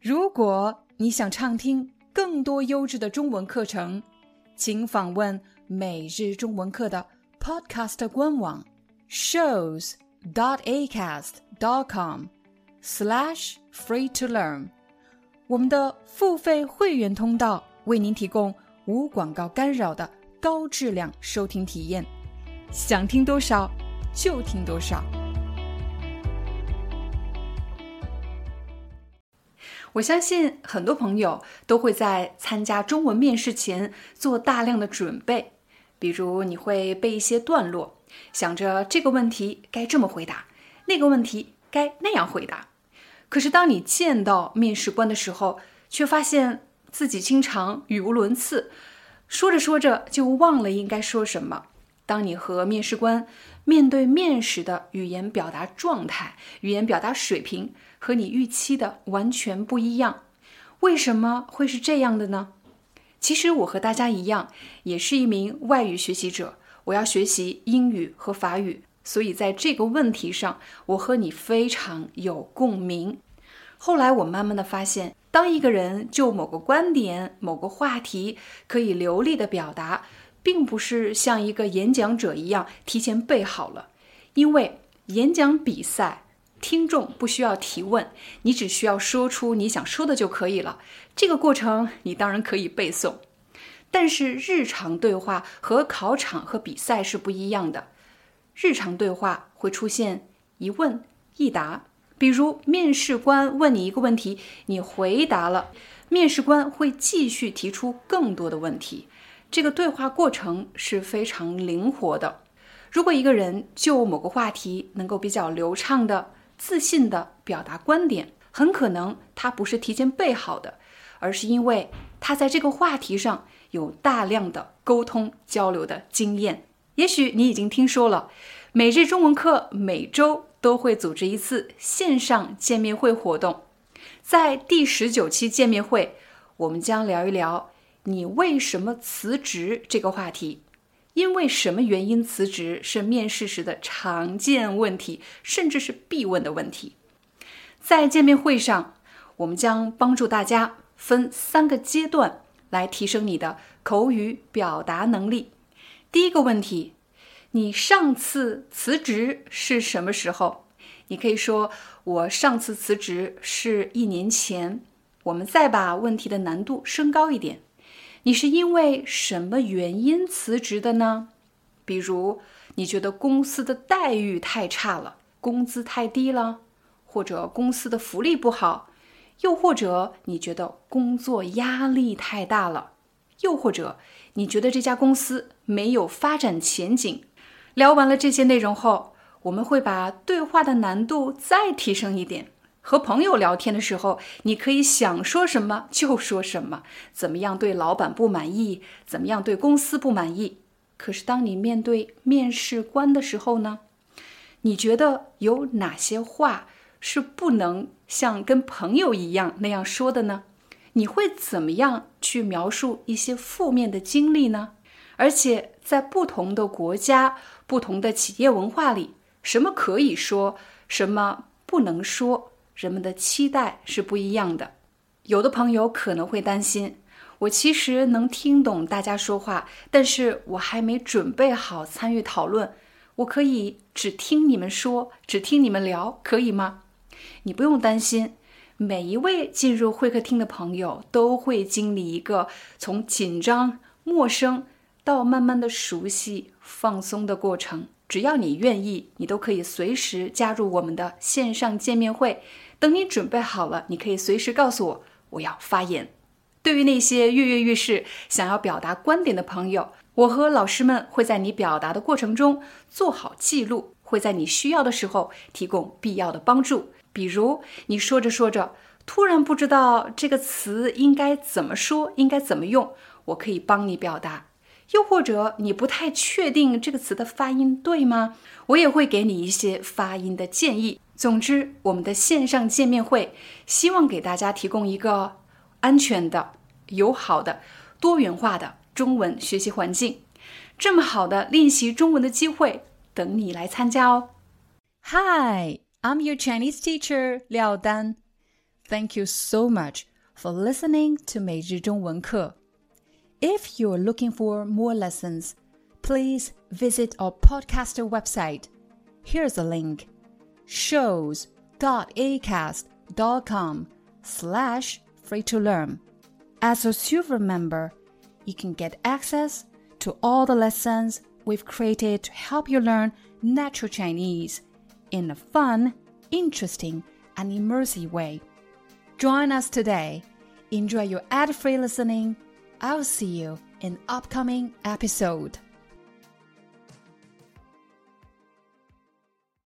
如果你想畅听更多优质的中文课程，请访问每日中文课的 Podcast 官网 shows.acast.com/free-to-learn。我们的付费会员通道为您提供无广告干扰的高质量收听体验，想听多少就听多少。我相信很多朋友都会在参加中文面试前做大量的准备，比如你会背一些段落，想着这个问题该这么回答，那个问题该那样回答。可是当你见到面试官的时候，却发现自己经常语无伦次，说着说着就忘了应该说什么。当你和面试官面对面时的语言表达状态、语言表达水平和你预期的完全不一样，为什么会是这样的呢？其实我和大家一样，也是一名外语学习者，我要学习英语和法语，所以在这个问题上，我和你非常有共鸣。后来我慢慢的发现，当一个人就某个观点、某个话题可以流利的表达，并不是像一个演讲者一样提前背好了，因为演讲比赛，听众不需要提问，你只需要说出你想说的就可以了。这个过程你当然可以背诵，但是日常对话和考场和比赛是不一样的。日常对话会出现一问一答，比如面试官问你一个问题，你回答了，面试官会继续提出更多的问题。这个对话过程是非常灵活的。如果一个人就某个话题能够比较流畅的、自信的表达观点，很可能他不是提前背好的，而是因为他在这个话题上有大量的沟通交流的经验。也许你已经听说了，每日中文课每周都会组织一次线上见面会活动。在第19期见面会，我们将聊一聊你为什么辞职这个话题。因为什么原因辞职是面试时的常见问题，甚至是必问的问题。在见面会上，我们将帮助大家分3个阶段来提升你的口语表达能力。第一个问题，你上次辞职是什么时候？你可以说，我上次辞职是1年前。我们再把问题的难度升高一点，你是因为什么原因辞职的呢？比如你觉得公司的待遇太差了，工资太低了，或者公司的福利不好，又或者你觉得工作压力太大了，又或者你觉得这家公司没有发展前景。聊完了这些内容后，我们会把对话的难度再提升一点。和朋友聊天的时候，你可以想说什么就说什么，怎么样对老板不满意，怎么样对公司不满意。可是当你面对面试官的时候呢？你觉得有哪些话是不能像跟朋友一样那样说的呢？你会怎么样去描述一些负面的经历呢？而且在不同的国家、不同的企业文化里，什么可以说，什么不能说，人们的期待是不一样的。有的朋友可能会担心，我其实能听懂大家说话，但是我还没准备好参与讨论，我可以只听你们说，只听你们聊，可以吗？你不用担心，每一位进入会客厅的朋友都会经历一个从紧张、陌生到慢慢的熟悉、放松的过程。只要你愿意，你都可以随时加入我们的线上见面会。等你准备好了，你可以随时告诉我，我要发言。对于那些跃跃欲试、想要表达观点的朋友，我和老师们会在你表达的过程中做好记录，会在你需要的时候提供必要的帮助。比如你说着说着，突然不知道这个词应该怎么说，应该怎么用，我可以帮你表达。又或者你不太确定这个词的发音对吗？我也会给你一些发音的建议。总之，我们的线上见面会希望给大家提供一个安全的、友好的、多元化的中文学习环境。这么好的练习中文的机会，等你来参加哦。Hi, I'm your Chinese teacher, Liao Dan. Thank you so much for listening to 每日中文课. If you're looking for more lessons, please visit our podcaster website. Here's a link, shows.acast.com/free-to-learn. As a silver member, you can get access to all the lessons we've created to help you learn natural Chinese in a fun, interesting, and immersive way. Join us today. Enjoy your ad-free listening. I'll see you in upcoming episode.